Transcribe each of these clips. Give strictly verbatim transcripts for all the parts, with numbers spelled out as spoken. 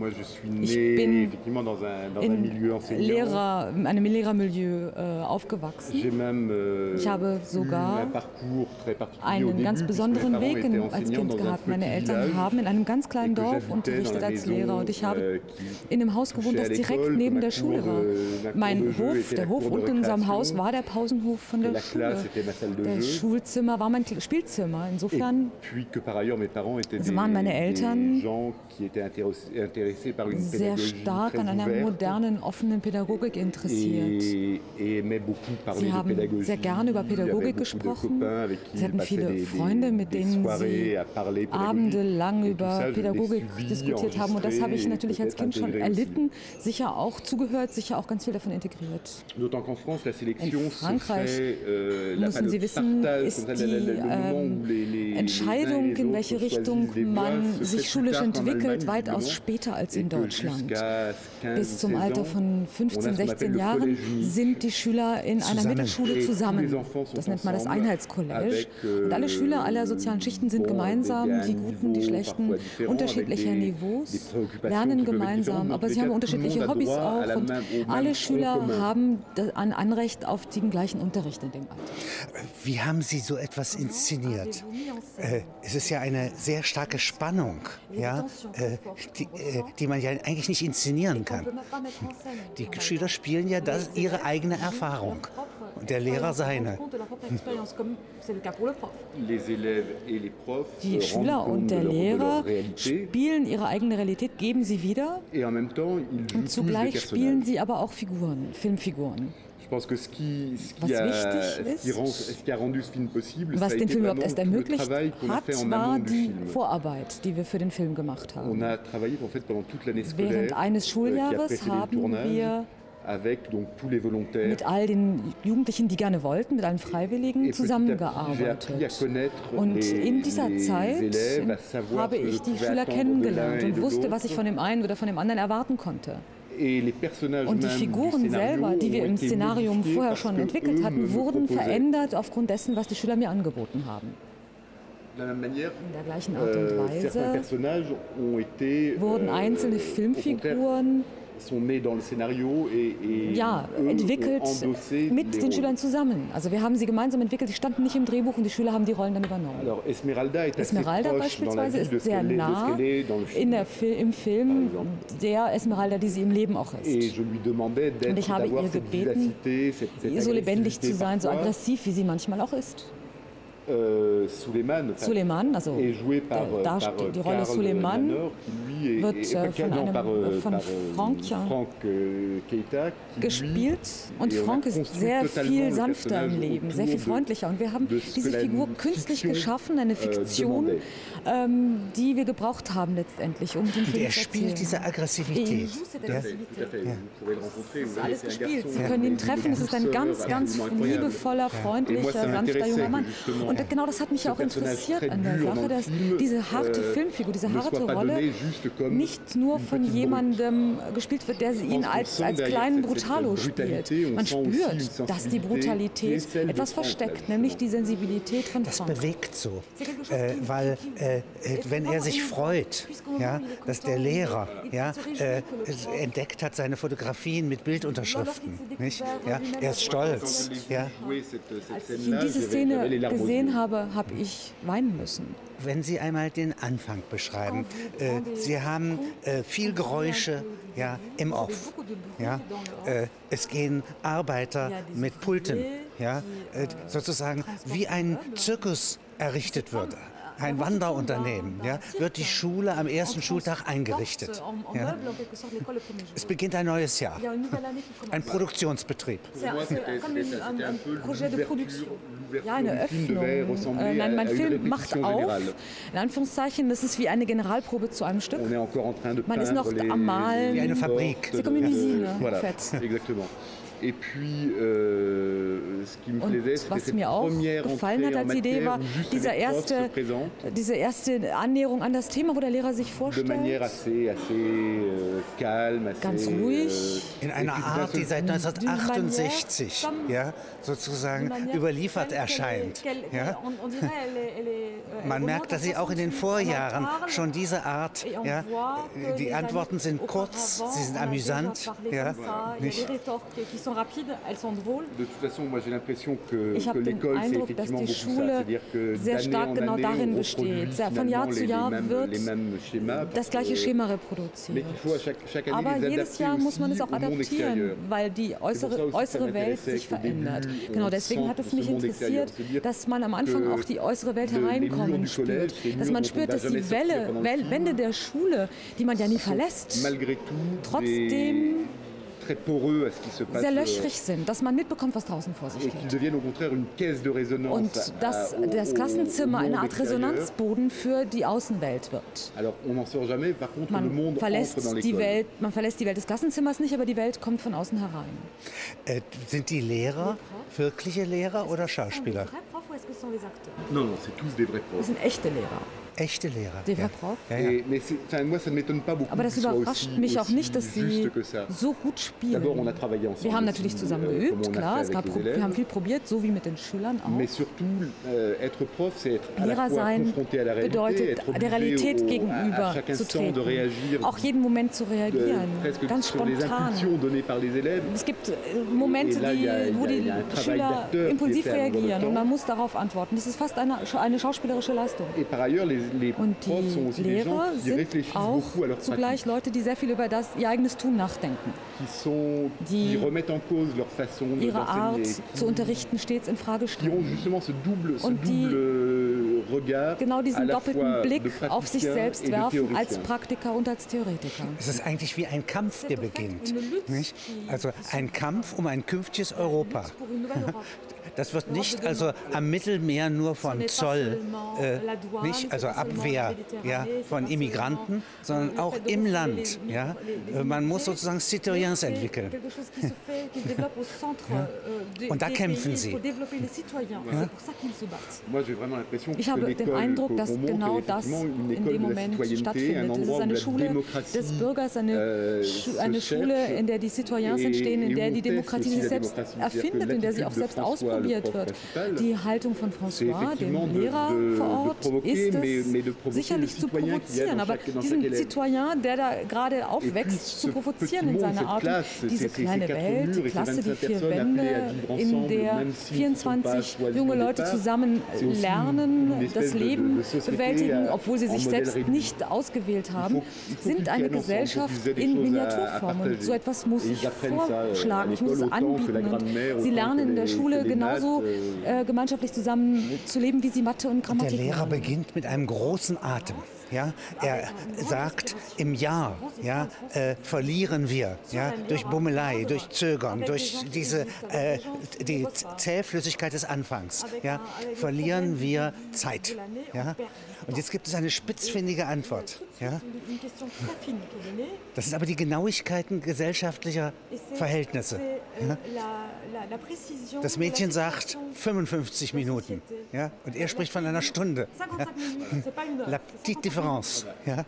Ich bin in, Lehrer, in einem Lehrermilieu äh, aufgewachsen. Ich habe sogar einen ganz besonderen Weg in, als Kind gehabt. Meine Eltern haben in einem ganz kleinen Dorf unterrichtet als Lehrer und ich habe in einem Haus gewohnt, das direkt neben der Schule war. Mein Hof, der Hof unten in unserem Haus war der Pausenhof von der Schule. Das Schulzimmer war mein Spielzimmer. Insofern waren meine Eltern sehr stark an einer modernen, offenen Pädagogik interessiert. Sie haben sehr gerne über Pädagogik gesprochen. Sie hatten viele Freunde, mit denen sie abendelang über Pädagogik diskutiert haben. Und das habe ich natürlich als Kind schon erlitten, sicher auch zugehört, sicher auch ganz viel davon integriert. In Frankreich, müssen Sie wissen, ist die ähm, Entscheidung, in welche Richtung man sich schulisch entwickelt, weitaus später als in Deutschland. Bis zum Alter von fünfzehn, sechzehn Jahren sind die Schüler in einer Mittelschule zusammen. Das nennt man das Einheitscollege. Und alle Schüler aller sozialen Schichten sind gemeinsam, die Guten, die Schlechten, unterschiedlicher Niveaus, lernen gemeinsam, aber sie haben unterschiedliche Hobbys auch und alle Schüler haben ein Anrecht auf den gleichen Unterricht in dem Alter. Wie haben Sie so etwas inszeniert? Äh, es ist ja eine sehr starke Spannung, ja, äh, die, äh, die man ja eigentlich nicht inszenieren kann. Die Schüler spielen ja das, ihre eigene Erfahrung und der Lehrer seine. Die Schüler und der Lehrer spielen ihre eigene Realität, geben sie wieder und zugleich spielen sie aber auch Figuren, Filmfiguren. Was wichtig ist, was den Film überhaupt erst ermöglicht hat, war die Vorarbeit, die wir für den Film gemacht haben. Während eines Schuljahres haben wir mit all den Jugendlichen, die gerne wollten, mit allen Freiwilligen zusammengearbeitet. Und in dieser Zeit habe ich die Schüler kennengelernt und wusste, was ich von dem einen oder von dem anderen erwarten konnte. Und die Figuren selber, die wir im Szenarium vorher schon entwickelt hatten, wurden verändert aufgrund dessen, was die Schüler mir angeboten haben. In der gleichen Art und Weise wurden einzelne Filmfiguren ja, entwickelt mit den Schülern zusammen. Also wir haben sie gemeinsam entwickelt, die standen nicht im Drehbuch und die Schüler haben die Rollen dann übernommen. Esmeralda beispielsweise ist sehr nah in der Fil- im Film der Esmeralda, die sie im Leben auch ist. Und ich habe ihr gebeten, so lebendig zu sein, so aggressiv, wie sie manchmal auch ist. Suleiman, also der, die, die Rolle Suleiman wird von, einem, von Franck gespielt und Franck ist sehr viel sanfter im Leben, sehr viel freundlicher und wir haben diese Figur künstlich geschaffen, eine Fiktion, ähm, die wir gebraucht haben letztendlich, um den Film zu erzählen. Er spielt diese Aggressivität. Ja. Ja. Das ist alles gespielt. Sie können ihn treffen, es ist ein ganz, ganz liebevoller, freundlicher, sanfter junger Mann. Und genau das hat mich auch interessiert an der Sache, dass diese harte Filmfigur, diese harte Rolle nicht nur von jemandem gespielt wird, der ihn als, als kleinen Brutalo spielt. Man spürt, dass die Brutalität etwas versteckt, nämlich die Sensibilität von Franck. Das bewegt so, äh, weil äh, wenn er sich freut, ja, dass der Lehrer ja, äh, entdeckt hat seine Fotografien mit Bildunterschriften, nicht? Ja, er ist stolz. Ja. Als ich in diese Szene gesehen habe, habe ich weinen müssen. Wenn Sie einmal den Anfang beschreiben, äh, Sie haben äh, viel Geräusche ja, im Off. Ja? Äh, es gehen Arbeiter mit Pulten, ja? Äh, sozusagen wie ein Zirkus errichtet wird. Ein Wanderunternehmen, ja, wird die Schule am ersten Schultag eingerichtet. Ja. Es beginnt ein neues Jahr, ein Produktionsbetrieb. Ja, eine Öffnung. Äh, nein, mein Film macht auf, in Anführungszeichen, das ist wie eine Generalprobe zu einem Stück. Man ist noch am Malen. Wie eine Fabrik. C'est comme une usine, en fait. Et puis, euh, ce qui me plaisait, c'était cette première gefallen hat als Idee war diese erste, diese erste Annäherung an das Thema, wo der Lehrer sich vorstellt. De manière assez, assez euh, calme, assez, ganz ruhig. Äh, in einer Art, die seit neunzehnhundertachtundsechzig ja, sozusagen überliefert erscheint. Ja? Man merkt, dass sie auch in den Vorjahren schon diese Art, ja, die Antworten sind kurz, sie sind amüsant. Ja, nicht? Ich habe den Eindruck, dass die Schule sehr stark genau darin besteht. Von Jahr zu Jahr wird das gleiche Schema reproduziert. Aber jedes Jahr muss man es auch adaptieren, weil die äußere, äußere Welt sich verändert. Genau, deswegen hat es mich interessiert, dass man am Anfang auch die äußere Welt hereinkommen spürt. Dass man spürt, dass die Welle, Wände der Schule, die man ja nie verlässt, trotzdem sehr löchrig sind, dass man mitbekommt, was draußen vor sich geht. Und dass das Klassenzimmer eine Art Resonanzboden für die Außenwelt wird. Man verlässt die Welt, man verlässt die Welt des Klassenzimmers nicht, aber die Welt kommt von außen herein. Äh, sind die Lehrer wirkliche Lehrer oder Schauspieler? Nein, das sind echte Lehrer. Echte Lehrer. Ja. Ja, ja. Aber das überrascht mich auch nicht, dass sie so gut spielen. Wir haben natürlich zusammen geübt, klar, es gab, wir haben viel probiert, so wie mit den Schülern auch. Lehrer sein bedeutet, der Realität gegenüber zu treten, auch jeden Moment zu reagieren, ganz spontan. Es gibt Momente, die, wo die Schüler impulsiv reagieren und man muss darauf antworten. Das ist fast eine, eine schauspielerische Leistung. Und die Lehrer sind auch zugleich Leute, die sehr viel über das, ihr eigenes Tun nachdenken. Die ihre Art zu unterrichten stets in Frage stellen. Und die genau diesen doppelten Blick auf sich selbst werfen als Praktiker und als Theoretiker. Es ist eigentlich wie ein Kampf, der beginnt. Nicht? Also ein Kampf um ein künftiges Europa. Das wird nicht also am Mittelmeer nur von Zoll, äh, nicht, also Abwehr ja, von Immigranten, sondern auch im Land. Ja. Man muss sozusagen Citoyens entwickeln. Ja. Und da kämpfen sie. Ja. Ich habe den Eindruck, dass genau das in dem Moment stattfindet. Es ist eine Schule des Bürgers, eine, eine Schule, in der die Citoyens entstehen, in der die Demokratie sich selbst erfindet, in der sie auch selbst ausprobiert wird. Die Haltung von François, dem Lehrer vor Ort, ist es, sicherlich zu provozieren, aber diesen Citoyen, der da gerade aufwächst, zu provozieren in seiner Art, diese kleine Welt, die Klasse, die vier Wände, in der vierundzwanzig junge Leute zusammen lernen, das Leben bewältigen, obwohl sie sich selbst nicht ausgewählt haben, sind eine Gesellschaft in Miniaturform. Und so etwas muss ich vorschlagen, ich muss es anbieten. Und sie lernen in der Schule genauso äh, gemeinschaftlich zusammen zu leben, wie sie Mathe und Grammatik lernen. Der Lehrer lernen. beginnt mit einem großen Atem. Ja, er sagt, im Jahr ja, äh, verlieren wir ja, durch Bummelei, durch Zögern, durch diese, äh, die Zähflüssigkeit des Anfangs, ja, verlieren wir Zeit. Ja. Und jetzt gibt es eine spitzfindige Antwort. Ja. Das sind aber die Genauigkeiten gesellschaftlicher Verhältnisse. Ja. Das Mädchen sagt fünfundfünfzig Minuten ja, und er spricht von einer Stunde. Ja. La petite différence. Ja.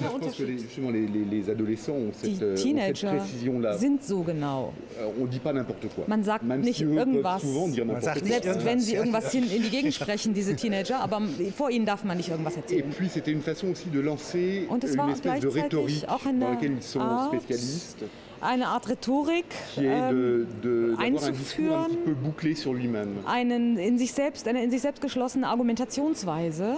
Die Teenager sind so genau. Man sagt nicht irgendwas, man sagt nicht selbst irgendwas. wenn sie irgendwas hin in die Gegend sprechen, diese Teenager, aber vor ihnen darf man nicht irgendwas erzählen. Und es war gleichzeitig auch eine Art, eine Art Rhetorik ähm, einzuführen, einen in sich selbst, eine in sich selbst geschlossene Argumentationsweise,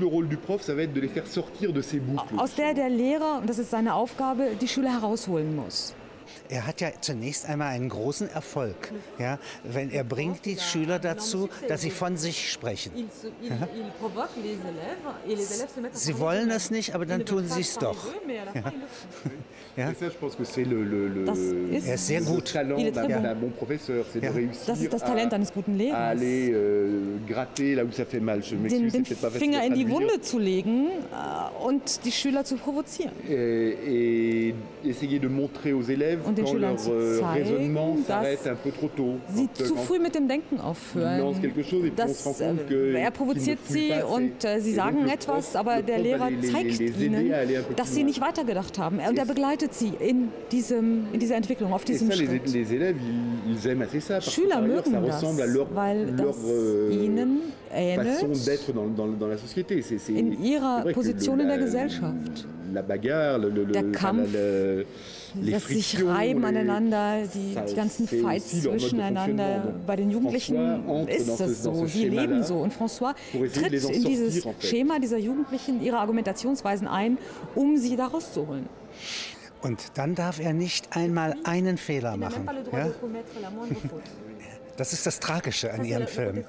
aus der der Lehrer, und das ist seine Aufgabe, die Schüler herausholen muss. Er hat ja zunächst einmal einen großen Erfolg, ja, wenn er bringt die Schüler dazu, dass sie von sich sprechen. Ja. Sie wollen es nicht, aber dann tun sie es doch. Ja. Ja? Ça, je pense que c'est le, le, le, er ist sehr gut. talent d'un bon. bon professeur, c'est ja. de réussir das ist das Talent eines guten Lehrers. à aller euh, gratter là où ça fait mal. Je den, den Finger in die Wunde zu legen äh, und die Schüler zu provozieren. Et, et essayer de montrer aux élèves und den quand Schülern leur zu euh, zeigen, raisonnement dass s'arrête un peu trop tôt. sie Quand, zu quand früh mit dem Denken aufhören. Das, äh, er provoziert sie und äh, sie sagen etwas, aber der Lehrer zeigt ihnen, dass sie nicht weitergedacht haben. Und er begleitet sie in, diesem, in dieser Entwicklung, auf diesem Schritt. Schüler mögen das, weil das ihnen ähnelt in ihrer Position in der Gesellschaft. Der Kampf, das sich reiben aneinander, die, die ganzen Fights zwischeneinander. Bei den Jugendlichen ist es so, sie leben so. Und François tritt in dieses Schema dieser Jugendlichen, ihre Argumentationsweisen ein, um sie da rauszuholen. Und dann darf er nicht einmal einen Fehler machen. Ja? Das ist das Tragische an ihrem Film.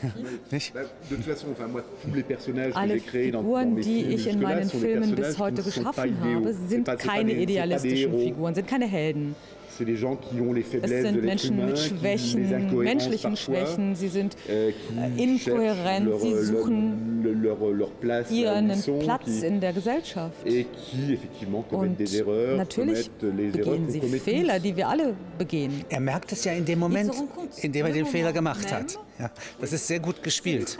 Alle Figuren, die ich in meinen Filmen bis heute geschaffen habe, sind keine idealistischen Figuren, sind keine Helden. Es sind Menschen mit Schwächen, menschlichen Schwächen, sie sind inkohärent, sie suchen ihren Platz in der Gesellschaft. Und natürlich begehen sie Fehler, die wir alle begehen. Er merkt es ja in dem Moment, in dem er den Fehler gemacht hat. Ja, das ist sehr gut gespielt.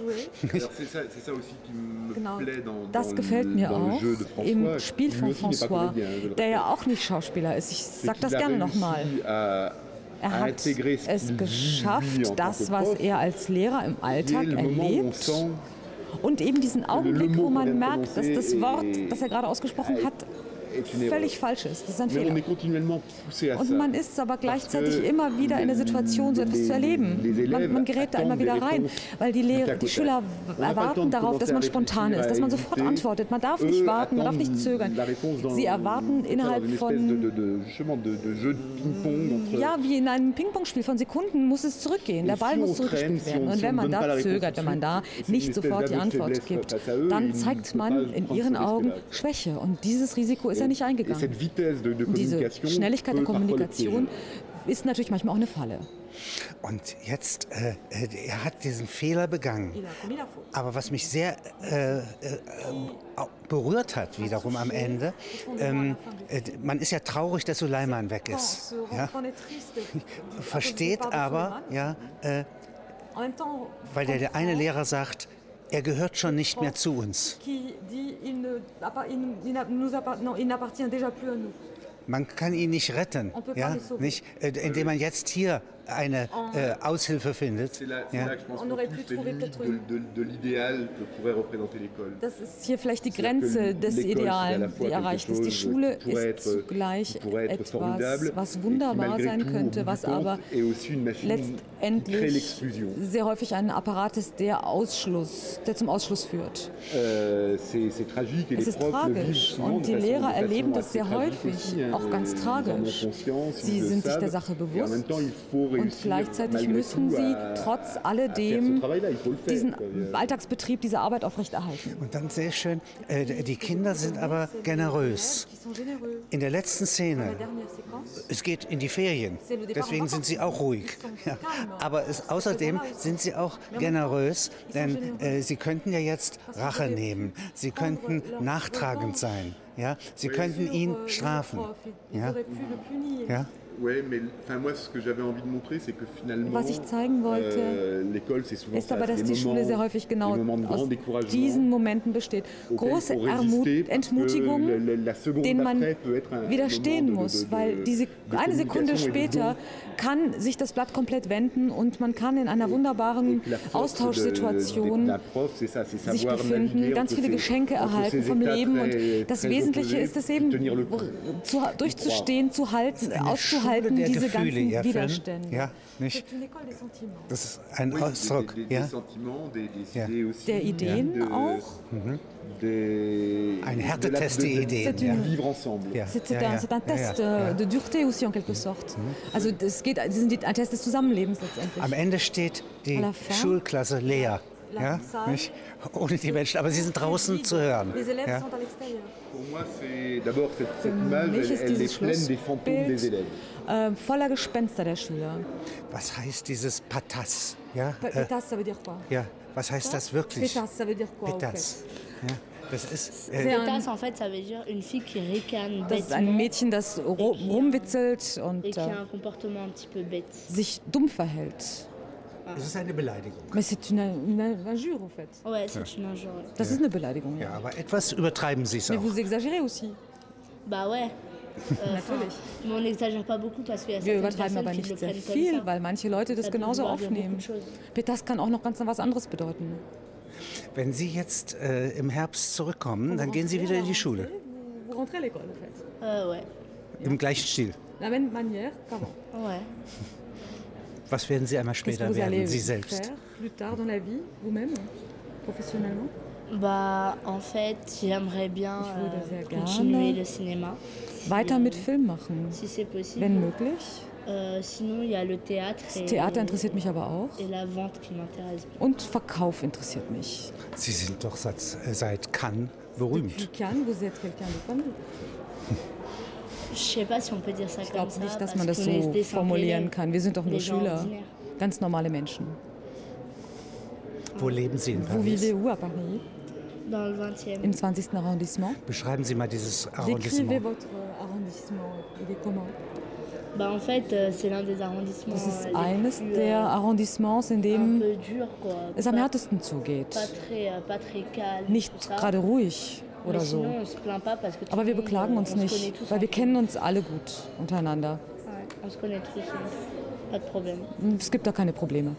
Genau, das gefällt mir auch im Spiel von François, der ja auch nicht Schauspieler ist. Ich sage das gerne nochmal. Er hat es geschafft, das, was er als Lehrer im Alltag erlebt, und eben diesen Augenblick, wo man merkt, dass das Wort, das er gerade ausgesprochen hat, völlig falsch ist. Das ist ein Fehler. Und man ist aber gleichzeitig immer wieder in der Situation, so etwas zu erleben. Man, man gerät da immer wieder rein, weil die, Lehrer, die Schüler erwarten darauf, dass man spontan ist, dass man sofort antwortet. Man darf nicht warten, man darf nicht zögern. Sie erwarten innerhalb von, ja, wie in einem Ping-Pong-Spiel von Sekunden muss es zurückgehen. Der Ball muss zurückgespielt werden. Und wenn man da zögert, wenn man da nicht sofort die Antwort gibt, dann zeigt man in ihren Augen Schwäche. Und dieses Risiko ist ja nicht eingegangen. Diese Schnelligkeit der Kommunikation ist natürlich manchmal auch eine Falle. Und jetzt, äh, er hat diesen Fehler begangen. Aber was mich sehr äh, äh, berührt hat, wiederum am Ende, ähm, äh, man ist ja traurig, dass Suleiman weg ist. Ja? Versteht aber, ja, äh, weil der, der eine Lehrer sagt, er gehört schon nicht mehr zu uns. Man kann ihn nicht retten, ja? Nicht, äh, indem man jetzt hier eine äh, Aushilfe findet. Ja. Das ist hier vielleicht die Grenze des Idealen, die erreicht ist. Die Schule ist zugleich etwas, was wunderbar sein könnte, was aber letztendlich sehr häufig ein Apparat ist, der, Ausschluss, der zum Ausschluss führt. Es ist tragisch und die Lehrer erleben das sehr häufig, auch ganz tragisch. Sie sind sich der Sache bewusst. Und gleichzeitig müssen sie trotz alledem diesen Alltagsbetrieb, diese Arbeit aufrechterhalten. Und dann sehr schön, äh, die Kinder sind aber generös. In der letzten Szene, es geht in die Ferien, deswegen sind sie auch ruhig. Ja. Aber es, außerdem sind sie auch generös, denn äh, sie könnten ja jetzt Rache nehmen, sie könnten nachtragend sein, ja? Sie könnten ihn strafen. Ja? Ja? Was ich zeigen wollte, ist aber, dass die Schule sehr häufig genau aus diesen Momenten besteht. Große Ermut Entmutigung, denen man widerstehen muss, weil diese, eine Sekunde später kann sich das Blatt komplett wenden und man kann in einer wunderbaren Austauschsituation sich befinden, ganz viele Geschenke erhalten vom Leben und das Wesentliche ist es eben, zu, durchzustehen, zu halten, auszuhalten. Halten diese ganzen ja, Widerstände. Ja, nicht? Das ist ein Ausdruck. Ja. Ja. Der Ideen ja. auch. Mhm. Ein Härtetest der Ideen. C'est ja. ja. un, un test ja. de dureté aussi en quelque sorte. Mhm. Also es geht, es sind ein Test des Zusammenlebens letztendlich. Am Ende steht die Schulklasse leer. ja, nicht? Ohne die Menschen, aber sie sind draußen zu hören. Ja? Für mich ist dieses Schlussbild äh, voller Gespenster der Schüler. Was heißt dieses Patas? Ja? Pétasse, ça veut dire quoi? Ja, was heißt das wirklich? Pétasse, ça veut dire quoi? Pétasse. Ja, das ist. Äh, Pétasse, en fait, ça veut dire une fille qui ricane das ist ein Mädchen, das rumwitzelt und et qui a un comportement un petit peu bête. sich dumm verhält. Das ist eine Beleidigung. Mais c'est une, une injure, en fait. Ouais, c'est une injure. Das ist eine Beleidigung, ja. Ja, aber etwas übertreiben Sie es auch. Mais vous exagérez aussi. Bah ouais. Euh, Natürlich. Mais on n'exagère pas beaucoup parce qu'il y a Wir übertreiben aber nicht sehr viel, weil manche Leute das genauso aufnehmen. Pétasse kann auch noch ganz was anderes bedeuten. Wenn Sie jetzt äh, im Herbst zurückkommen, dann gehen Sie wieder in die Schule. Vous rentrez à l'école, en fait. Euh, ouais. Im gleichen Stil. La même manière qu'avant. Ouais. Was werden Sie einmal später werden, Sie selbst? Plus tard dans la vie, vous-même, professionnellement? Bah, en fait, j'aimerais bien euh, continuer le cinéma. Weiter mit Film machen, si c'est possible. Wenn möglich. Euh, sinon, il y a le théâtre. Das Theater interessiert mich aber auch. Et la vente qui m'intéresse. Und Verkauf interessiert mich. Sie sind doch seit, seit Cannes berühmt. Depuis Cannes, vous êtes quelqu'un de connu. Ich glaube nicht, dass man das so formulieren kann. Wir sind doch nur Schüler, ganz normale Menschen. Wo leben Sie in Paris? Vous vivez où à Paris? Dans le vingtième. Im zwanzigsten Arrondissement. Beschreiben Sie mal dieses Arrondissement. Décrivez votre arrondissement. Il est comment? Bah en fait, c'est l'un des arrondissements. Das ist eines der Arrondissements, in dem es am härtesten zugeht. Nicht gerade ruhig oder so. Aber wir beklagen uns nicht, weil wir kennen uns alle gut untereinander. Es gibt da keine Probleme.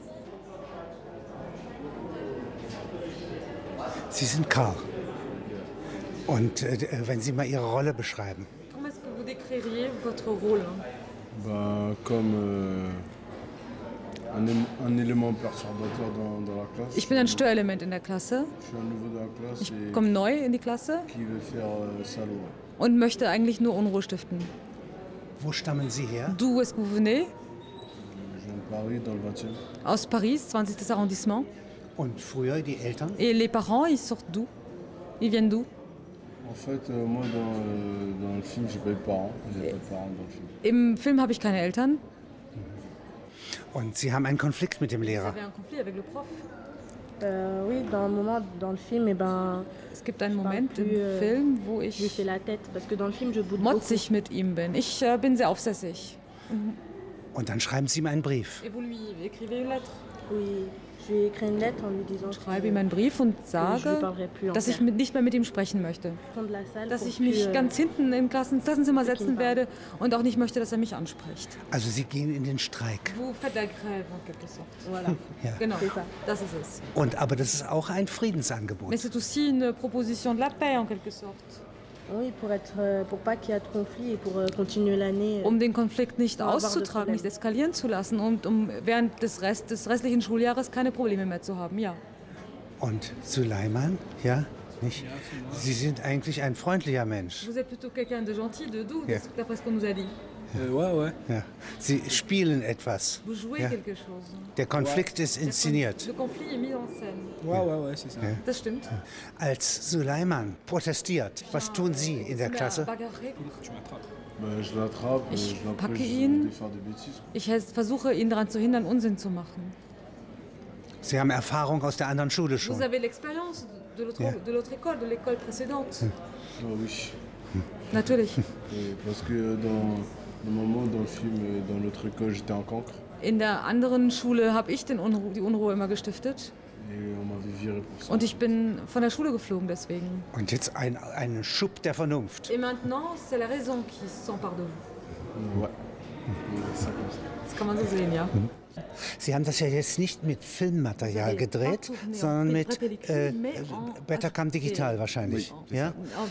Sie sind Karl. Und äh, wenn Sie mal Ihre Rolle beschreiben. Comment est-ce que vous décririez votre rôle? Bah, comme euh, un, un élément perturbateur dans, dans la classe. Ich bin ein Störelement in der Klasse. Je suis un nouveau dans la classe. Ich komme neu in die Klasse. Qui veut faire euh, salaud. Und möchte eigentlich nur Unruhe stiften. Wo stammen Sie her? D'où est-ce que vous venez? Je viens de Paris, dans le vingtième. Aus Paris, zwanzigsten Arrondissement. Und früher die Eltern? Et les parents, ils sortent d'où? Ils viennent d'où? En fait, euh, moi, dans, euh, dans le film, j'ai pas eu de parents. J'ai pas de parents dans le film. Im Film habe ich keine Eltern. Und Sie haben einen Konflikt mit dem Lehrer? Vous avez un conflit avec le prof? Euh, oui, dans un moment dans le film, eh ben, es gibt einen Moment plus, im Film, wo ich lui fais la tête, parce que dans le film, je boude motzig mit ihm bin. Ich äh, bin sehr aufsässig. Mhm. Und dann schreiben Sie ihm einen Brief. Et vous lui écrivez une lettre? Oui. Ich schreibe ihm einen Brief und sage, dass ich mit, nicht mehr mit ihm sprechen möchte. Dass ich mich ganz hinten im Klassen, Klassenzimmer setzen werde und auch nicht möchte, dass er mich anspricht. Also Sie gehen in den Streik. Vous faites la grève, en quelque sorte. Voilà. Ja. Genau, das ist es. Und, aber das ist auch ein Friedensangebot. Mais c'est aussi une proposition de la paix, en quelque sorte. Oui, pour être, pour pas qu'il y ait de conflit et pour continuer l'année. Um den Konflikt nicht auszutragen, nicht eskalieren zu lassen und um während des, Rest, des restlichen Schuljahres keine Probleme mehr zu haben, ja. Und Suleiman, ja, nicht? Sie sind eigentlich ein freundlicher Mensch. Vous êtes plutôt quelqu'un de gentil, de doux, ja. D'après ce qu'on nous a dit. Äh, ouais, ouais. Ja. Sie spielen etwas. Vous jouez ja. quelque chose. Der Konflikt ist inszeniert. Le conflit est mis en scène. Ouais, ouais, ouais, c'est ça. Ja. Das stimmt. Als Suleiman protestiert, was tun Sie in der Klasse? Ich packe ihn. Ich versuche ihn daran zu hindern, Unsinn zu machen. Sie haben Erfahrung aus der anderen Schule schon. Vous avez l'expérience de l'autre, ja. de l'autre école, de l'école précédente. Hm. Oh, oui. Natürlich. Parce que dans le moment dans le film, dans l'autre école, j'étais en cancre. In der anderen Schule habe ich den Unruhe, die Unruhe immer gestiftet. Und ich bin von der Schule geflogen deswegen. Und jetzt ein, ein Schub der Vernunft. Et maintenant, c'est la raison qui s'empare de vous. Ouais. Das kann man so sehen, ja. Sie haben das ja jetzt nicht mit Filmmaterial gedreht, sondern mit äh, Betacam Digital wahrscheinlich. Ja?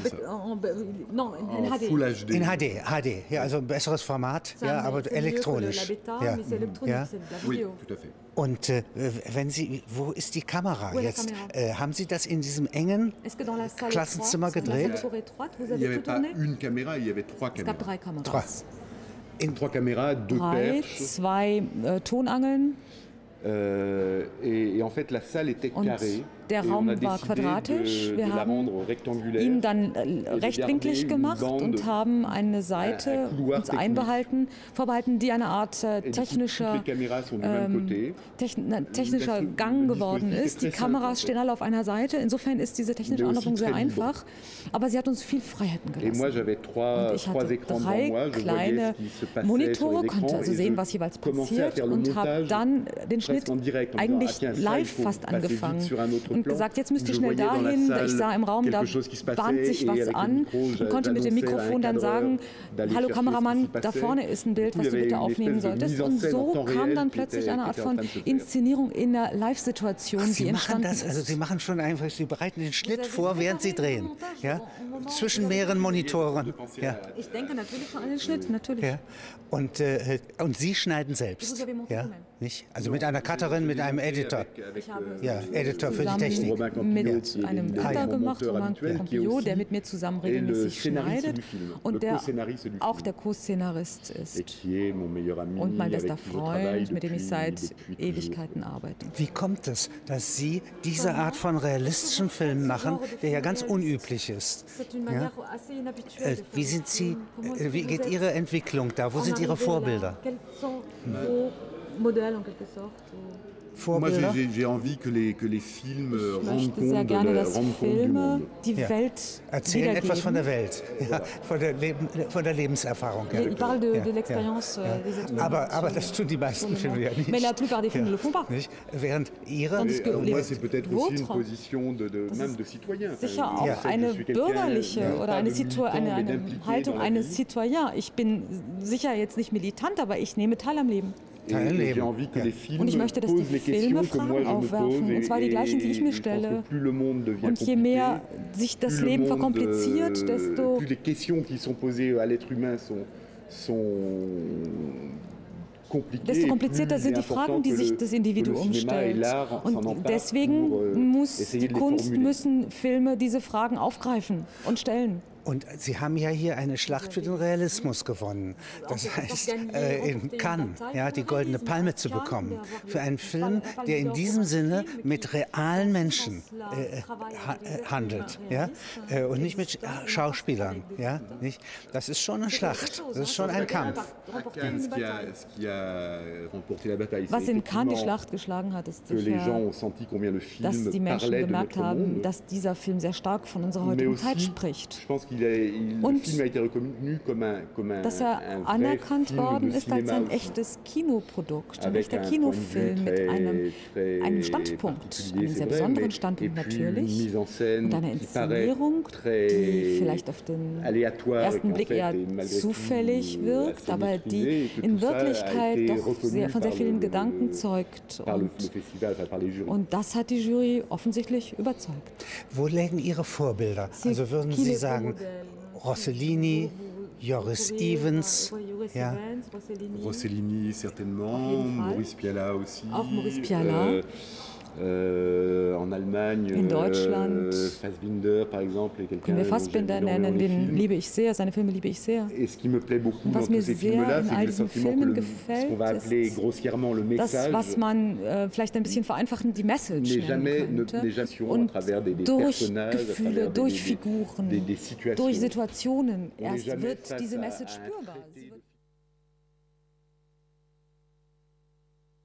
Full H D. In H D, H D, ja, also ein besseres Format, ja, aber elektronisch. Ja. Ja. Oui, tout à fait. Und äh, wenn Sie, wo ist die Kamera jetzt? Äh, haben Sie das in diesem engen Klassenzimmer gedreht? Il n'y avait pas une caméra, il y avait trois caméras. Es gab drei Kameras. In trois caméras, deux drei, perches. Zwei äh, Tonangeln. Euh, et, et en fait, la salle était carrée. Der Raum war quadratisch. De, Wir de haben ihn dann rechtwinklig gemacht und haben eine Seite uns einbehalten, vorbehalten, die eine Art äh, technischer, ähm, techn technischer Gang geworden ist. Die Kameras stehen alle auf einer Seite. Insofern ist diese technische Anordnung sehr einfach. Aber sie hat uns viel Freiheiten gelassen. Und ich hatte drei kleine Monitore, konnte also sehen, was jeweils passiert und habe dann den Schnitt eigentlich live fast angefangen. Und gesagt, jetzt müsst ihr schnell dahin. Ich sah im Raum, da bahnt sich was an und konnte mit dem Mikrofon dann sagen, hallo Kameramann, da vorne ist ein Bild, was du bitte aufnehmen solltest. Und so kam dann plötzlich eine Art von Inszenierung in der Live-Situation, die entstanden ist. Also Sie machen schon einfach, Sie bereiten den Schnitt vor, während Sie drehen. Ja? Zwischen mehreren Monitoren. Ja. Ich denke natürlich schon an den Schnitt, natürlich. Ja. Und, äh, und Sie schneiden selbst. Ja? Nicht? Also mit einer Cutterin, mit einem Editor. Ich habe ja, Editor für die Technik. Mit einem Cutter gemacht, Romain Campillo, der mit mir zusammen regelmäßig schneidet und der auch der Co-Szenarist ist. Und mein bester Freund, mit dem ich seit Ewigkeiten arbeite. Wie kommt es, dass Sie diese Art von realistischen Film machen, der ja ganz unüblich ist? Ja? Äh, wie sind Sie, äh, wie geht Ihre Entwicklung da? Wo sind Ihre Vorbilder? Modell en quelque sorte. Moi, j'ai envie que les, que les films rendent compte, de le, rendent compte du monde. Die ja. Welt Erzählen etwas von der Welt, ja, von, der Leben, von der Lebenserfahrung. Ja. Ich parle de, ja. de l'expérience ja. des êtres humains. Aber, aber das tun die meisten Filme ja nicht. Mais la plupart des films ne le font pas. Nicht? Während ihre... Alors, moi, c'est peut-être aussi une position de, de, même de citoyen. Sicher auch ja. eine bürgerliche ja. oder eine, eine, eine Haltung eines Citoyens. Ich bin sicher jetzt nicht militant, aber ich nehme teil am Leben. Ja. Und ich möchte, dass die Filme Fragen aufwerfen, und zwar die gleichen, die ich mir stelle. Und je mehr sich das Leben verkompliziert, desto desto komplizierter sind die Fragen, die sich das Individuum stellt. Und deswegen muss die Kunst, müssen Filme diese Fragen aufgreifen und stellen. Und Sie haben ja hier eine Schlacht für den Realismus gewonnen. Das heißt, äh, in Cannes ja, die Goldene Palme zu bekommen. Für einen Film, der in diesem Sinne mit realen Menschen äh, ha handelt. Ja? Äh, und nicht mit Schauspielern. Ja? Nicht? Das ist schon eine Schlacht. Das ist schon ein Kampf. Was in Cannes die Schlacht geschlagen hat, ist sicher, dass die Menschen gemerkt haben, dass dieser Film sehr stark von unserer heutigen Zeit spricht. Und dass er anerkannt worden ist als ein echtes Kinoprodukt, ein echter Kinofilm mit einem, einem Standpunkt, einem sehr besonderen Standpunkt natürlich, und einer Inszenierung, die vielleicht auf den ersten Blick eher zufällig wirkt, aber die in Wirklichkeit doch sehr, von sehr vielen Gedanken zeugt. Und, und das hat die Jury offensichtlich überzeugt. Wo liegen Ihre Vorbilder? Also würden Sie sagen, Rossellini, Joris Ivens, ja. Rossellini certainement, Maurice Pialat aussi. Auch Maurice Pialat. Äh, en Allemagne, in Deutschland, äh, Fassbinder, par exemple, können wir Fassbinder nennen, den liebe ich sehr, seine Filme liebe ich sehr. Und was mir sehr in all diesen Filmen gefällt, ist das, was man äh, vielleicht ein bisschen vereinfachend die Message nennen könnte. Und durch Gefühle, durch Figuren, durch Situationen erst wird diese Message spürbar.